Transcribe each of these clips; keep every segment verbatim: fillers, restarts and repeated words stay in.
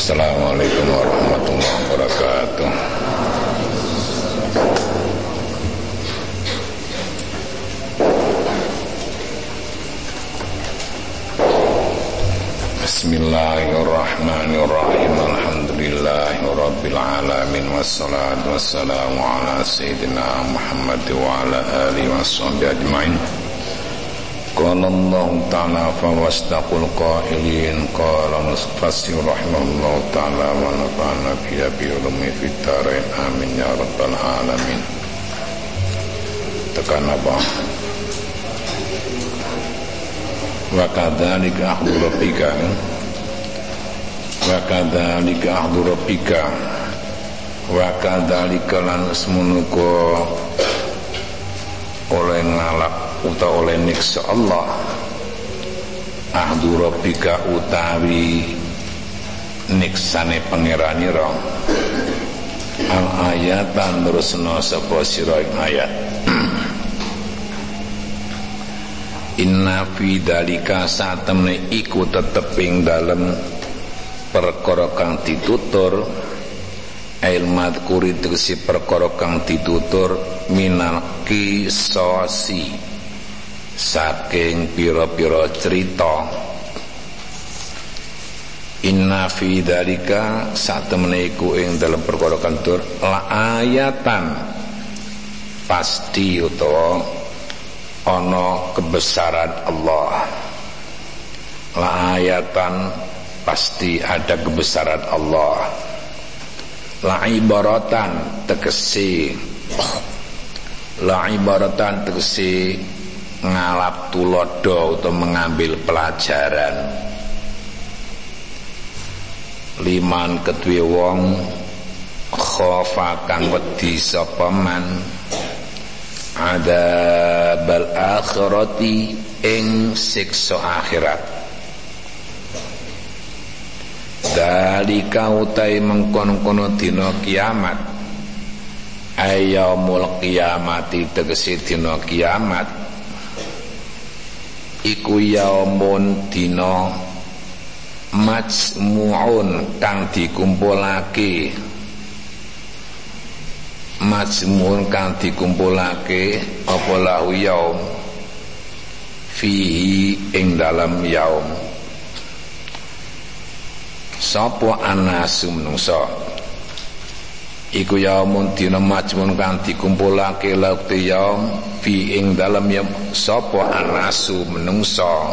Assalamualaikum warahmatullahi wabarakatuh. Bismillahirrahmanirrahim. Alhamdulillahirabbil alamin wassalatu wassalamu ala sayyidina Muhammad wa ala alihi washabbihi ajmain. Qala Allah ta'ala fa wastaqul qailin qala nusfasir rahimahullah ta'ala wa nafa'ana biya bi ulumi fid dharain amin ya rabbal alamin. Tekan apa? Wa kadzalika akhdhu rabbika wa kadzalika akhdhu rabbika wa kadzalika lan semunuka oleh ngalap utawa oleh niksa Allah ahdu rabbika utawi niksane pangeranira al ayatan terusna sapa sira ayat inna fi dalika satemene iku tetep ing dalem perkara kang ditutur ail madhkuri tegese perkara kang ditutur minal qisasi saking pira-pira cerita inna fi dzalika satemene iku ing dalem perkara kantur la ayatan pasti utawa ana kebesaran Allah la ayatan pasti ada kebesaran Allah la ibaratan tegese la ibaratan tegese ngalap tulodo atau mengambil pelajaran liman kedue wong khofa kang wedi sapa man adzabal akhirati ing siksa akhirat dalika utai mengkono-kono dina kiamat ayyamul qiyamati tegese dina kiamat iku yaumun dina majmu'un kang dikumpulake majmu'un kang dikumpulake apa lahu yaum fihi ing dalam yaum sapa anasu menungso iku yaumun dina majmun kang dikumpulake laukte yaum fi ing dalem yaum sapa anasu menungso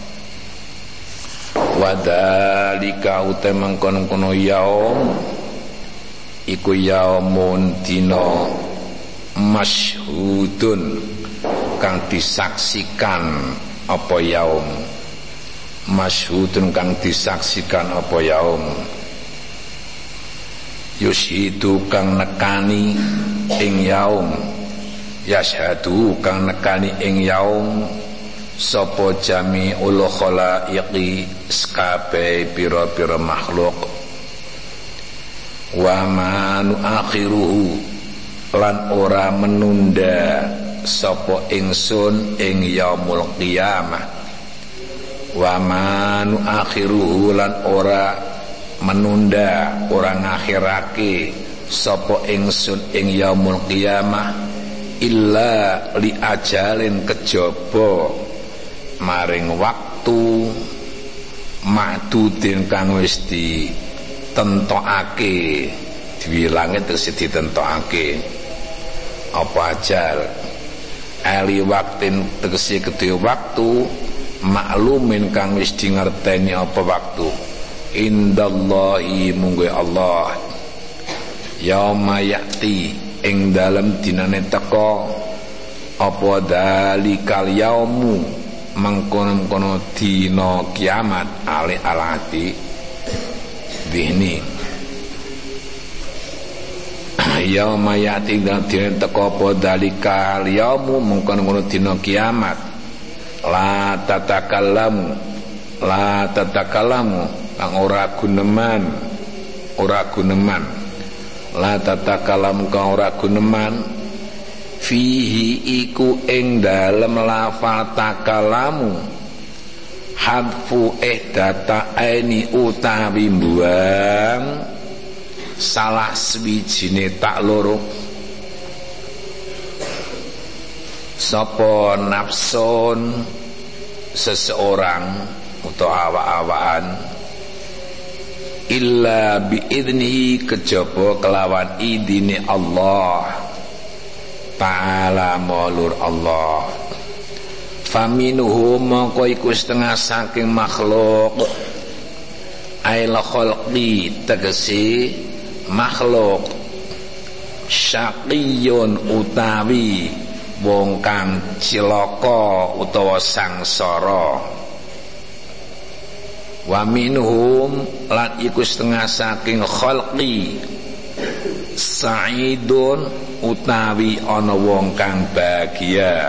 wadalika uta mangkon-kono yaum iku yaumun dina masyhudun kang disaksikan apa yaum masyhudun kang disaksikan apa yaum yushidu kang nekani ing yaum yashhadu kang nekani ing yaum sapa jami'ul khalaiqi skabe pira-pira makhluk wa ma nuakhiruhu lan ora menunda sapa ingsun ing yaumul qiyamah wa ma nuakhiruhu lan ora menunda orang ngakhirake sapa ingsun ing yaumul qiyamah illa li ajalin kejaba maring waktu ma'dudin kang wis ditentokake diwilange terus ditentokake apa ajal ali waktin tegese kedhe waktu maklumin kang wis dingerteni apa waktu indallahi mungguh Allah yauma ya'ti ing dalem dinane teka apa dalikal yaumu mangkono-kono dina kiamat ali alati dihni yauma ya'ti dalem dinane teka apa dalikal yaumu mangkono-kono dina kiamat la tatakallamu la tatakallamu kang ora guneman ora guneman la tatakalam kang ora guneman fihi iku ing dalem lafal takalamu hadfu ihdata aini utawi mbuang salah swijine tak loro sapa nafsun seseorang utawa awak-awakan illa biidnihi kejaba kelawan idine Allah ta'ala maulur Allah faminuhum mongko iku setengah saking makhluk ail khalqi tegese makhluk syaqiyun utawi wong kang cilaka utawa sangsara wa minhum lan iku setengah saking khalqi sa'idun utawi ana wong kang bahagia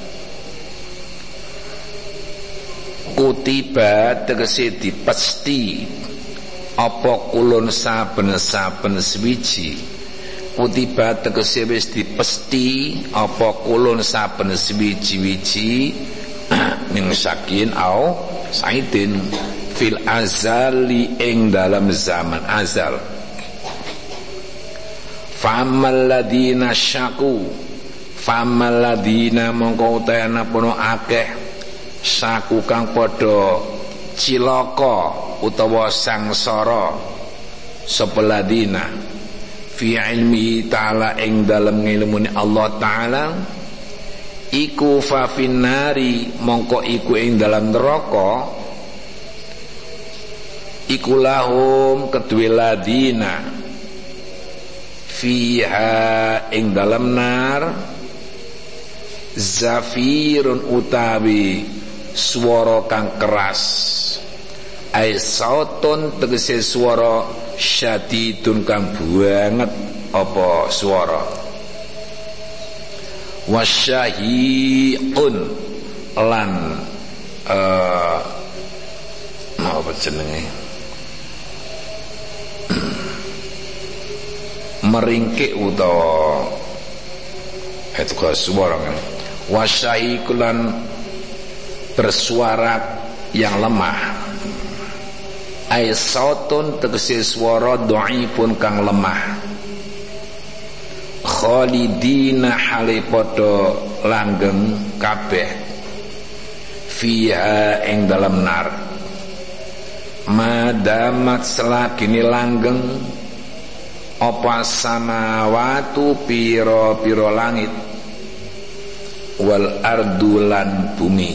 kutiba tegese dipesti apa kulun saben-saben swiji kutiba tegese wis dipesti apa kulun saben swiji-wiji min sakin au saidin fil azali ing dalam zaman azal famal ladina syaku famal ladina mongko utayana pono akeh syaku kang padha cilaka utawa sangsara sapa ladina fi ilmi ta'ala ing dalam ngilmune Allah ta'ala iku fa finnari mongko iku ing dalam neraka iku lahum kedue ladina fiha ing dalam nar zafirun utawi swara kang keras ai sautun tegese swara syadidun kang banget apa swara wasyahiqun lan uh, apa jenenge meringkik utawa itu ke suara kan wasyahiqulan bersuara yang lemah ai sautun tegese swara dhaifun kang lemah khalidina hale padha langgeng kabeh fiha ing dalam nar madamat selagine langgeng apa samawatu piro-piro langit wal ardulan bumi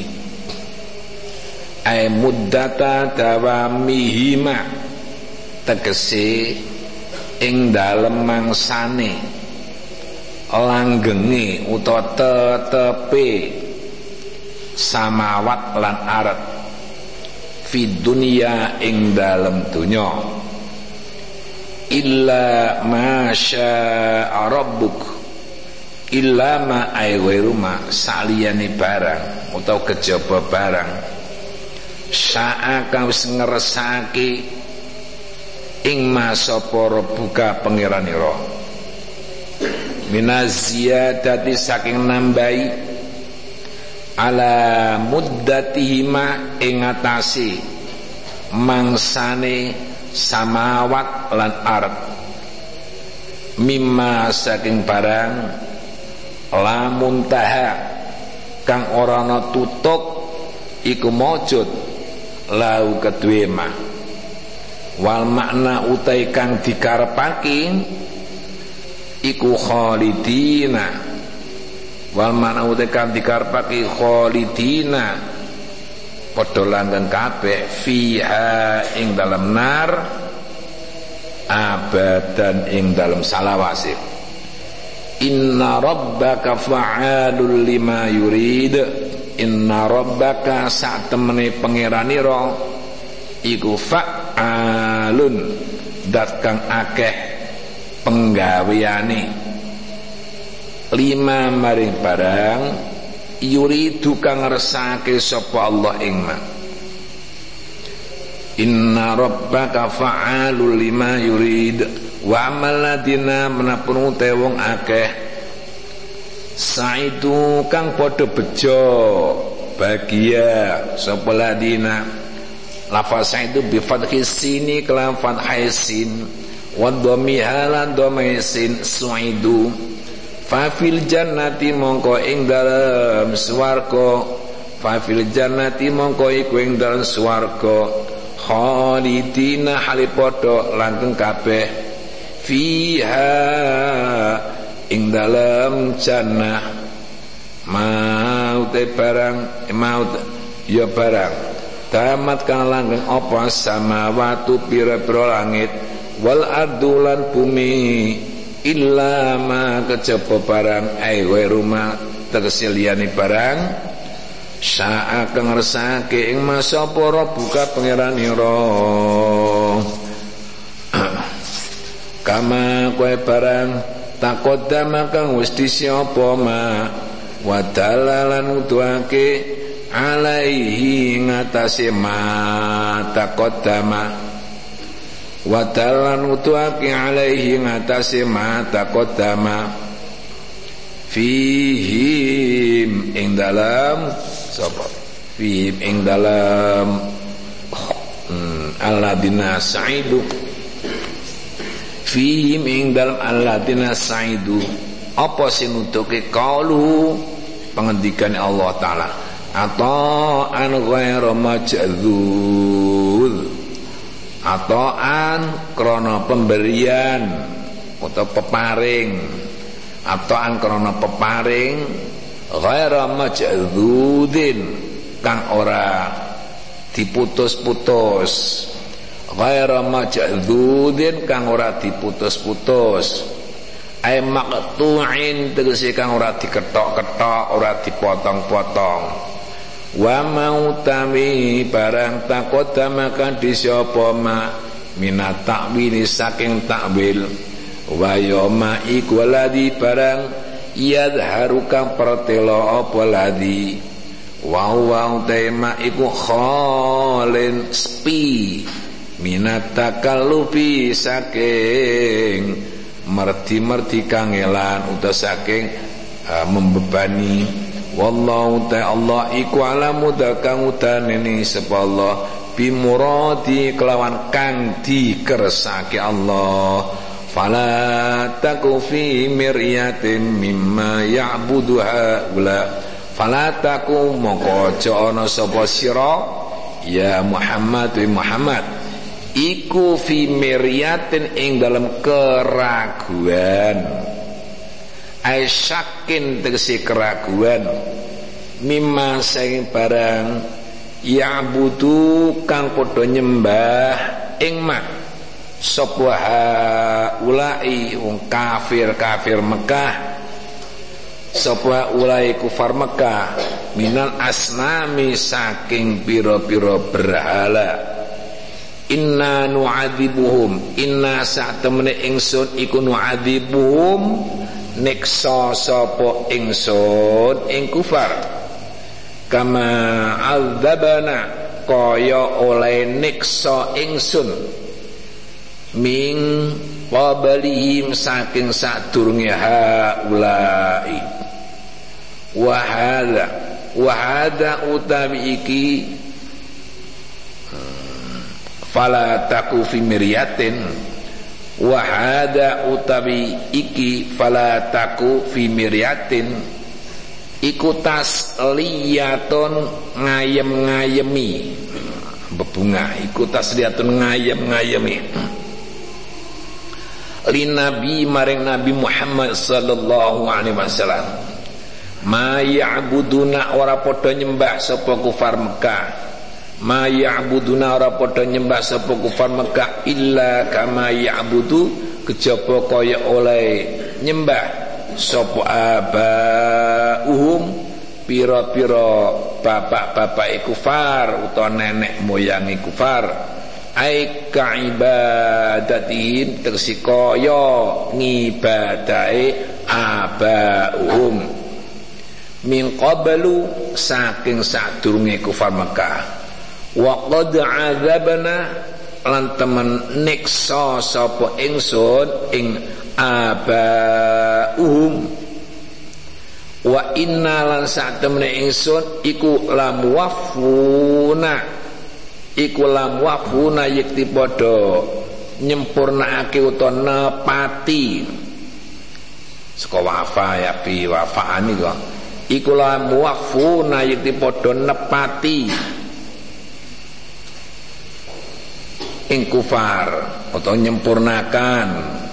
ay muddata dawamihima tegese ing dalem mangsane langgenge utawa tetepe samawat lan ard fi dunya ing dalem dunya illa ma syaa rabbuk illa ma ay ghairu ma saliyane barang utawa kejaba barang syaa kang wis ngersake ing masapa buka pangeranira minaziyadati saking nambahi ala muddatihima ing atase mangsane samawat lan ard mimma saking barang lamun taha kang ora ana tutuk iku maujud lau kedue mah wal makna utai kang dikarepake iku khalidina wal makna utai kang dikarepake khalidina padha langgeng kabeh fiha ing dalam nar abadan ing dalam salawase inna rabbaka fa'alul lima yurid inna rabbaka sak temene pangeranira iku fa'alun dat kang akeh penggaweane lima maring barang yuridu kang ngersake sapa Allah ing ma inna rabbaka fa'alul lima yurid wa amal ladina menapun uta wong akeh saitu kang padha bejo bagia sapa ladina lafaz saidu bi fathhi sini kelam fathai sin wa dhammiha lan dhammai sin suidu fa fil jannati mongko ing dalem swarga fa fil jannati mongko iku ing dalem swarga khalidina halipodo langgeng kabeh fiha ing dalem jannah maut barang maut ya barang tamat kang langgeng apa samawatu pira-pira langit wal ardulan bumi illa ma kejaba barang ai wa rumah tegese liyane barang sa'a kang ngersake ing masa para buka pangeranira kama kowe barang takodama kang wis disapa ma wa dalalan utuake alaihi ngatasé ma takodama wa dalalan utuake alaihi ngatasé ma takodama fihim ing dalam sapa fihim ing dalam hmm, alladina sa'idu fihim ing dalam alladina sa'idu apa sing nutuke qaulu pengendikan Allah taala atau an ghairu majdzul atau an krana pemberian atau peparing atau an krana peparing ghairu majdzudin kang ora diputus-putus ghairu majdzudin kang ora diputus-putus ai maqtu'in tegese kang ora diketok-ketok ora dipotong-potong wa mautami barang takodama kan disapa ma minat takwil saking takwil wa yoma iku ladhi barang yadharu kang pertelo apa ladhi wa wa tema iku khalen spi minat takallufi saking merti-merti kangelan uta saking uh, membebani wallahu ta'ala iku alamu kang utanene sapa Allah bimuradi kelawan kang dikersake Allah fala taku fi miryatin mimma ya'budu haula fala taku mongko aja ana sapa sira ya Muhammad wa Muhammad iku fi miryatin ing dalam keraguan ai syakin tegese keraguan mimma sing barang ya'budu kang padha nyembah ing mak sapa ulai wong kafir-kafir Mekah sapa ulai kufar Mekah minal asnami saking pira-pira berhala inna nu'adzibuhum inna sa'temene ingsun iku nu'adzibuhum niksa sapa ingsun ing kufar kama adzabana kaya oleh niksa ingsun ming qablihim saking sadurunge haulai wa hadza wa hadza utawi iki fala taku fi miryatin wa hada utawi iki fala taku fi miryatin iku tasliyatun ngayem-ngayemi bebungah iku tasliyatun ngayem-ngayemi li nabi maring Nabi Muhammad sallallahu alaihi wasallam ma ya'buduna ora padha nyembah sapa kufar Mekah ma ya'buduna ora padha nyembah sapa kufar Mekah illa kama ya'budu kejaba kaya oleh nyembah sapa abauhum pira-pira bapak-bapak kufar utawa nenek moyang kufar ai kaibadatihim tegese kaya ngibadahe abauhum min qablu saking sadurunge kufar Mekah wa qad azabna lan temen niksa sapa ingsun ing abauhum Wa inna lan sak temene ingsun iku lamuwafuna iku lamuwafuna yekti padha nyempurnakake utawa nepati saka wafa ya bi wafaan iku iku lamuwafuna yekti padha nepati ing kufar utawa nyempurnakan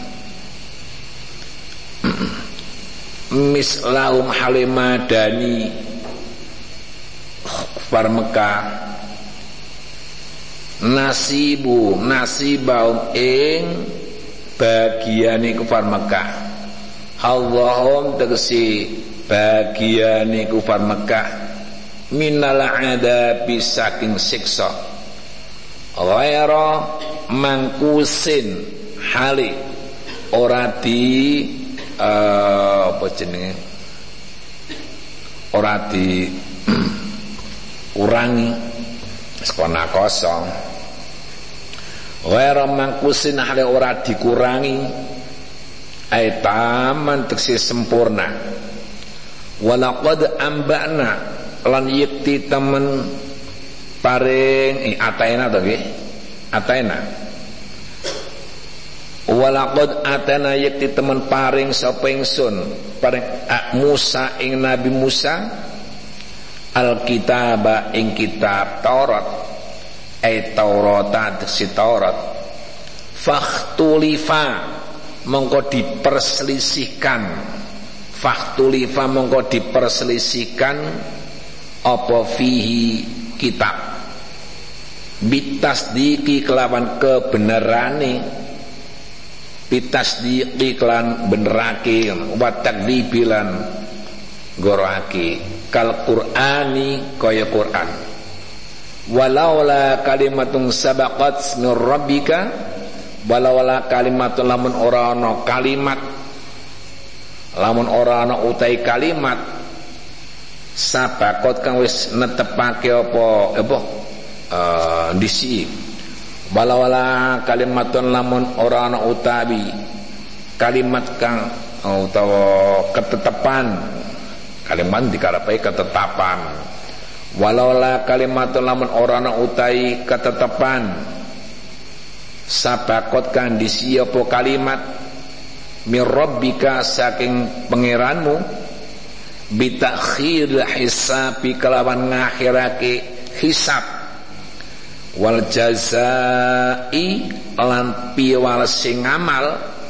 mislahum halimadani kufar Mekah nasibu nasibahum ing bagiane kufar Mekah Allahum tegesi bagiane kufar Mekah minal adabi saking siksa ghaira mangkusin hali ora di Uh, apa jenenge ora di urangi sekona kosong ora mangkusin hale ora dikurangi ay taman teksi sempurna walaqad amba'na lan yekti temen paring eh, ataina to nggih ataina walaqad atana yakti temen paring sapa ingsun paring Musa ing Nabi Musa alkitaba ing kitab Taurat ay Taurata si Taurat fakhtulifa mongko diperselisihkan fakhtulifa mongko diperselisihkan apa fihi kitab bitasdiki kelawan kebenerane bitasdiqi klan benerake wa takdzibilan gorake kal qur'ani kaya Qur'an walaula kalimatun sabaqat min rabbika walaula kalimatun lamun ora ana kalimat lamun ora ana utai kalimat sabaqat kang wis netepake apa apa uh, disi walawala kalimatun lamun ora ana utawi kalimat kang utawa ketetapan kalimat dikarepe ketetapan walawala kalimatun lamun ora ana utawi ketetapan sabakot kang disi apa kalimat mir rabbika saking pangeranmu bitakhir hisabi kelawan ngakhirake hisab wal jazai lan piwal sing amal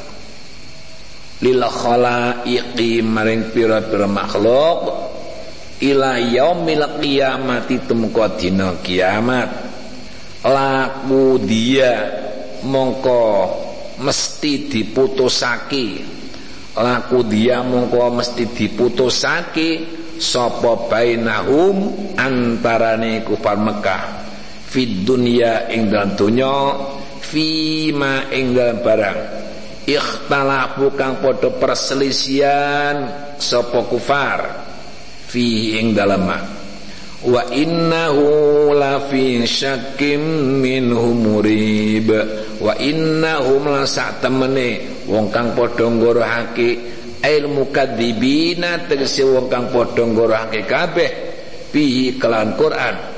lil khalaiqi maring pira-pira makhluk ila yaumil qiyamati tumeka dina kiamat laku dia mongko mesti diputusake laku dia mongko mesti diputusake sapa bainahum antarane kufar Mekah fid dunya ing dalam dunya fima ing dalam barang ikhtalafu kang padha perselisihan sapa kufar fi ing dalam wa innahu la fi syakkim minhum murib wa innahum la sak temene wong kang padha ngorohake ilmu kadzibina tegese wong kang padha ngorohake kabeh bihi kelan Quran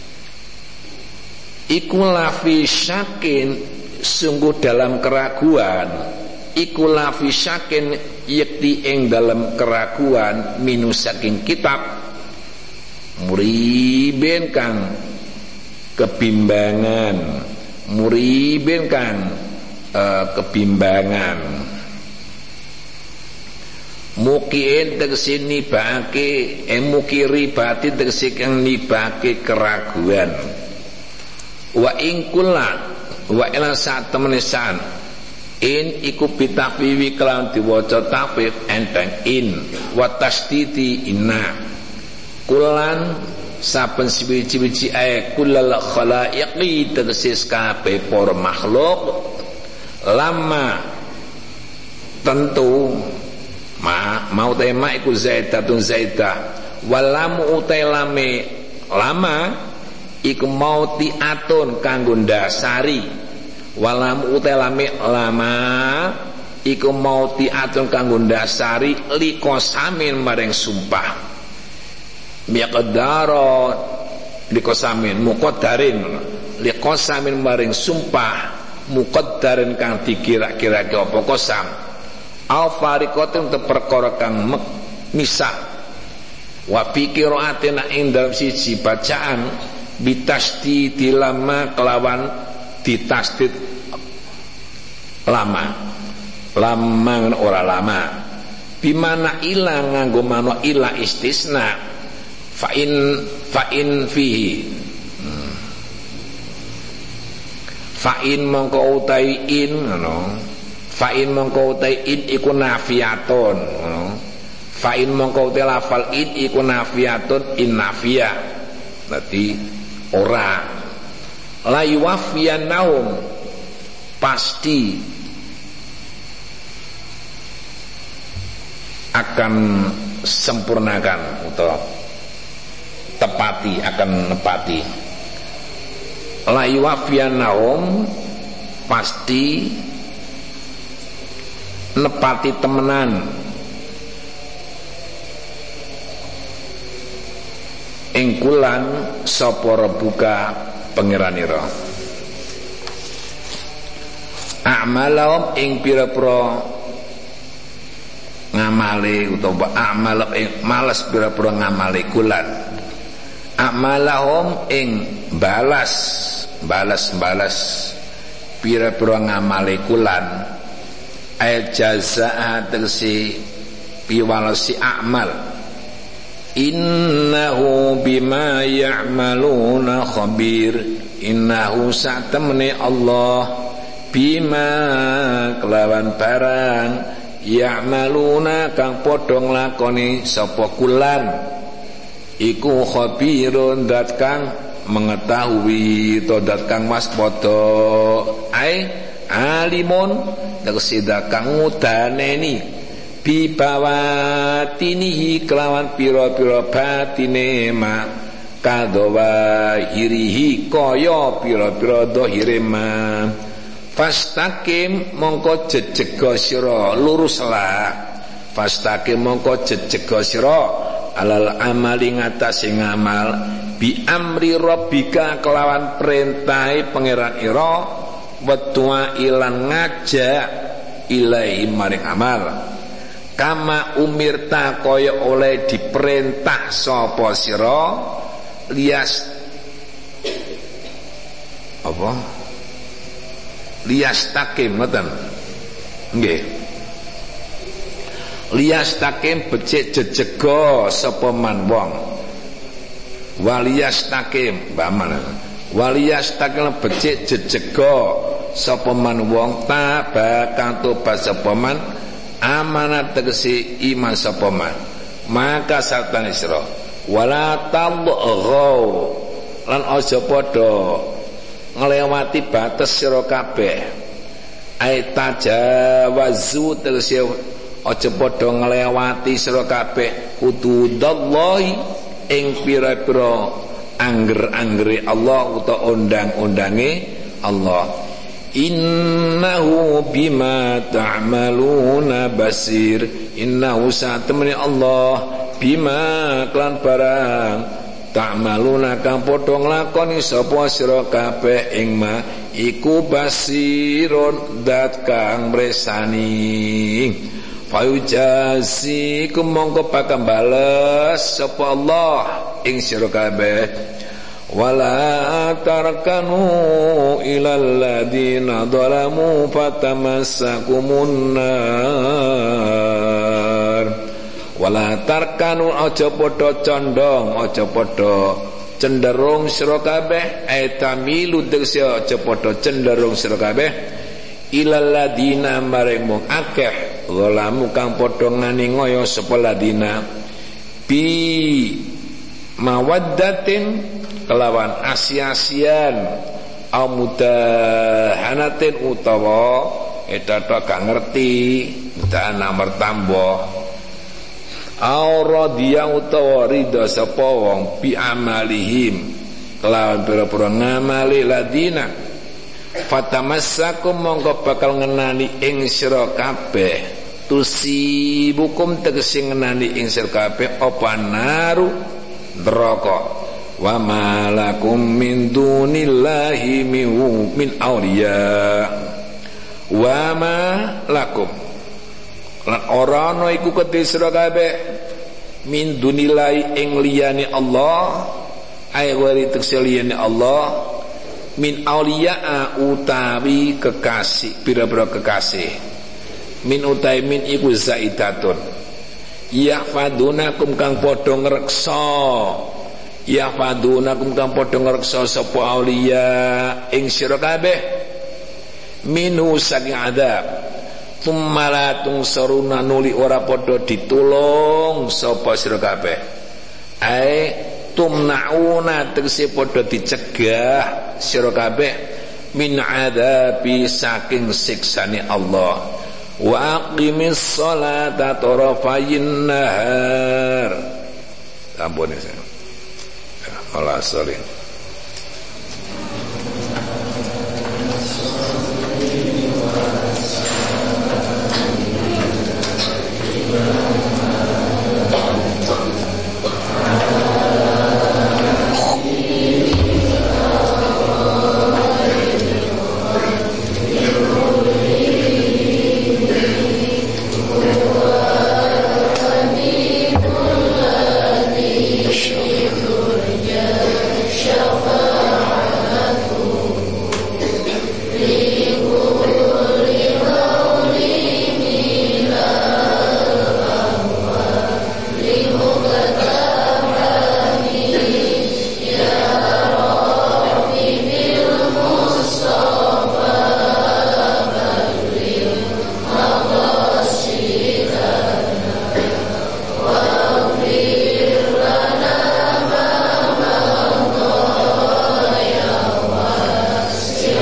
iku lafi syakin sungguh dalam keraguan iku lafi syakin yakti ing dalam keraguan minus saking kitab muriben kang kebimbangan muriben kang uh, kebimbangan mukiin tegesi nibake eh mukiri batin tegesi kang nibake keraguan wa ingkulan wa ila saat temenisan in iku bitakwiwi kelawan diwaca tafif enteng in wa tasdidi inna kulan saben siwiji-wiji ae kullal khalaiqi tegese kabeh para makhluk lama tentu ma mau tema iku zaidatun zaidah walamu utai lame lama iku mau tiatun kanggo ndasari walam utelame lama iku mautiatun kanggo ndasari likosamin maring sumpah miqdaro likosamin muqaddarin likosamin maring sumpah muqaddarin kang dikira-kirake apa kosam au fariqatin te perkara kang misah wa fikiraatina ing dalem siji bacaan bitasdid lama kelawan ditasdid lama lama ora lama bimana ilang nganggo mano ila istisna fa'in fa'in fihi hmm. fa'in mongko utai in ngono fa'in mongko utai in iku nafiatun ngono fa'in mongko utai lafal in iku nafiatun in nafia berarti ora la yuwaffiyanahum pasti akan sempurnakan atau tepati akan nepati la yuwaffiyanahum pasti nepati temenan ing kulan sapa rebuka pangeranira a'malahum ing pira-pira ngamale utawa amal ing males pira-pira ngamale kulan amalahum ing balas balas-balas pira-pira ngamale kulan ay jazaa tegese piwalesi amal innahu bima ya'maluna khabir innahu sa'tamni Allah bima kelawan barang ya'maluna kang padha nglakoni sapa kulan iku khabirun dat kang mengetahui to dat kang waspada ai alimun tegese dat kang ngudaneni bibawatinihi kelawan pira-pira batine ma kadawa hirihi kaya pira-pira dhahire ma fastaqim mongko jejega sira luruslah fastaqim mongko jejega sira alal amali ngatasé ngamal bi amri rabbika kelawan perintahe pangeran ira wetua ilan ngajak ilahi maring amal kama umirta kaya oleh diperintah sapa sira lias apa lias takim ngoten nggih lias takim becik jejega sapa man wong walias takim baman walias takim becik jejega sapa man wong tabakang tobat sapa man amanat tegesi iman sapa man maka sartane sira wala talghaw lan aja padha nglewati batas sira kabeh ai tajawazu tegese aja padha nglewati sira kabeh hududallahi ing pira-pira angger-anggere Allah utawa undang-undange Allah innahu bima ta'maluna basir innahu satemene Allah bima klan barang ta'maluna kang padha nglakoni sapa sira kabeh ing ma iku basirun dat kang mresani fayujazi kumangka bakal bales sapa Allah ing sira kabeh wala tarkanu ilal ladina zalamu fatamassakumun nar wala tarkanu aja padha condong aja padha cenderung sira kabeh etamilu tegese aja padha cenderung sira kabeh ilal ladina maring mung akeh zalamu kang padha nganiaya sapa ladina bi mawaddatin kelawan asia-asian amudahanatin utawa etato gak ngerti dan nomor tambah auradhiya utawa ridha sapa wong bi amalihim kelawan pira-pira ngamali ladina fatamassakum mongko bakal ngenani ing sira kabeh tusibukum tegese ngenani ing sira kabeh apa naru neraka wa malakum min dunillahi min awliya wa ma lakum lan ora ana iku kedhe sira kabeh min dunillahi ing liyane Allah ay wari tegese liyane Allah min auliya utawi kekasih pira-pira kekasih min utai min iku zaidatun yahfadunakum kang padha ngreksa yahfadunakum kang padha ngreksa sapa auliya ing sira kabeh minu saking adab tummalatung saruna nuli ora padha ditulung sapa sira kabeh ae tumnauna tegese padha dicegah sira kabeh min adabi saking siksane Allah wa aqimis sholata tarafayin nahar ampun ya Allah sorry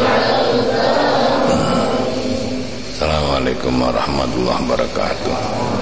Assalamualaikum warahmatullahi wabarakatuh.